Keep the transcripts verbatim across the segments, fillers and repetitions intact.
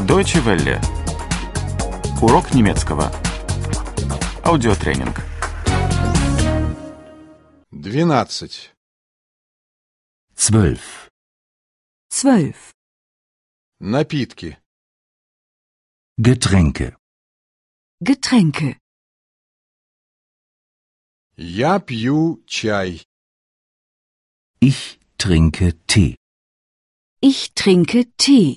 Deutsche Welle. Урок немецкого. Аудиотренинг. Двенадцать. Zwölf. Zwölf. Напитки. Getränke. Getränke. Я пью чай. Ich trinke Tee. Ich trinke Tee.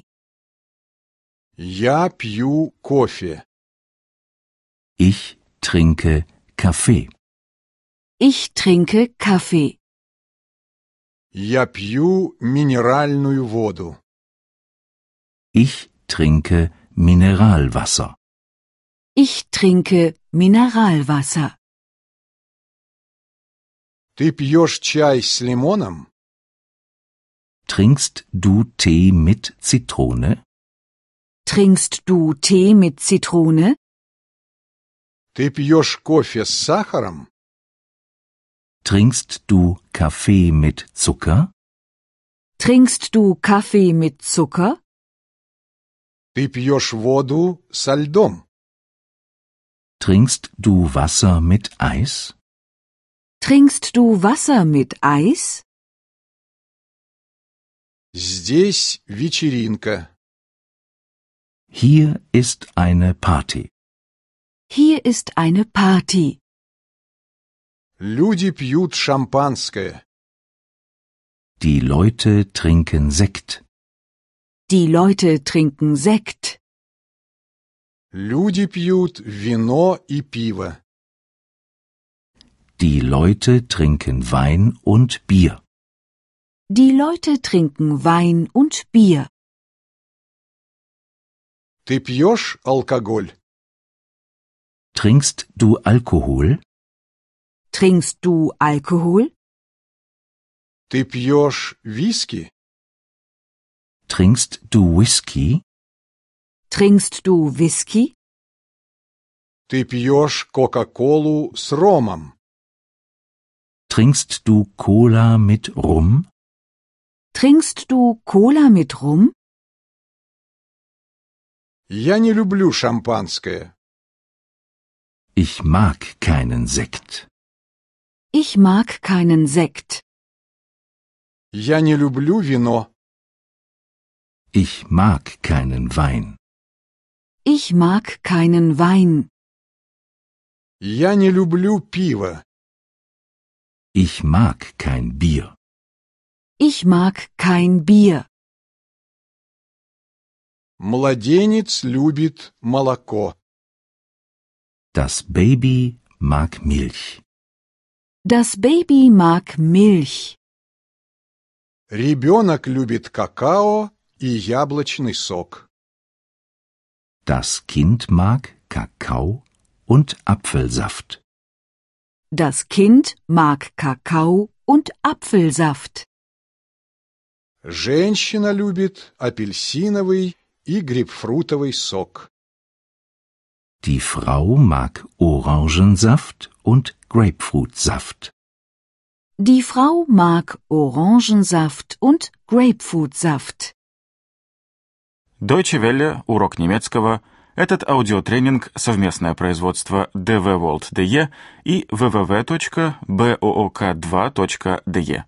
Я пью кофе. Ich trinke Kaffee. Ich trinke Kaffee. Я пью минеральную воду. Ich trinke Mineralwasser. Ich trinke Mineralwasser. Ты пьешь чай с лимоном? Trinkst du Tee mit Zitrone? Trinkst du Tee mit Zitrone? Ты пьешь кофе с сахаром? Trinkst du Kaffee mit Zucker? Trinkst du Kaffee mit Zucker? Ты пьешь воду со льдом? Trinkst du Wasser mit Eis? Trinkst du Wasser mit Eis? Здесь вечеринка. Hier ist eine Party. Hier ist eine Party. Люди пьют шампанское. Die Leute trinken Sekt. Die Leute trinken Sekt. Люди пьют вино и пиво. Die Leute trinken Wein und Bier. Die Leute trinken Wein und Bier. Ты пьешь алкоголь? Trinkst du Alkohol? Trinkst du Alkohol? Ты пьешь виски? Trinkst du Whisky? Trinkst du Whisky? Ты пьешь кока-колу с ромом? Trinkst du Cola mit Rum? Trinkst du Cola mit Rum? Я не люблю шампанское. Ich mag keinen Sekt. Ich mag keinen Sekt. Я не люблю вино. Ich mag keinen Wein. Ich mag keinen Wein. Я не люблю пиво. Ich mag kein Bier. Ich mag kein Bier. Младенец любит молоко. Das Baby mag Milch. Das Baby mag Milch. Ребенок любит какао и яблочный сок. Das Kind mag Kakao und Apfelsaft. Das Kind mag Kakao und Apfelsaft. Женщина любит апельсиновый и грейпфрутовый сок. Die Frau mag Orangensaft und Grapefruitsaft. Die Frau mag Orangensaft und Grapefruitsaft. Deutsche Welle. Урок немецкого. Этот аудиотренинг – совместное производство дэ вэ World точка дэ и дабл ю дабл ю дабл ю точка боок два точка дэ и.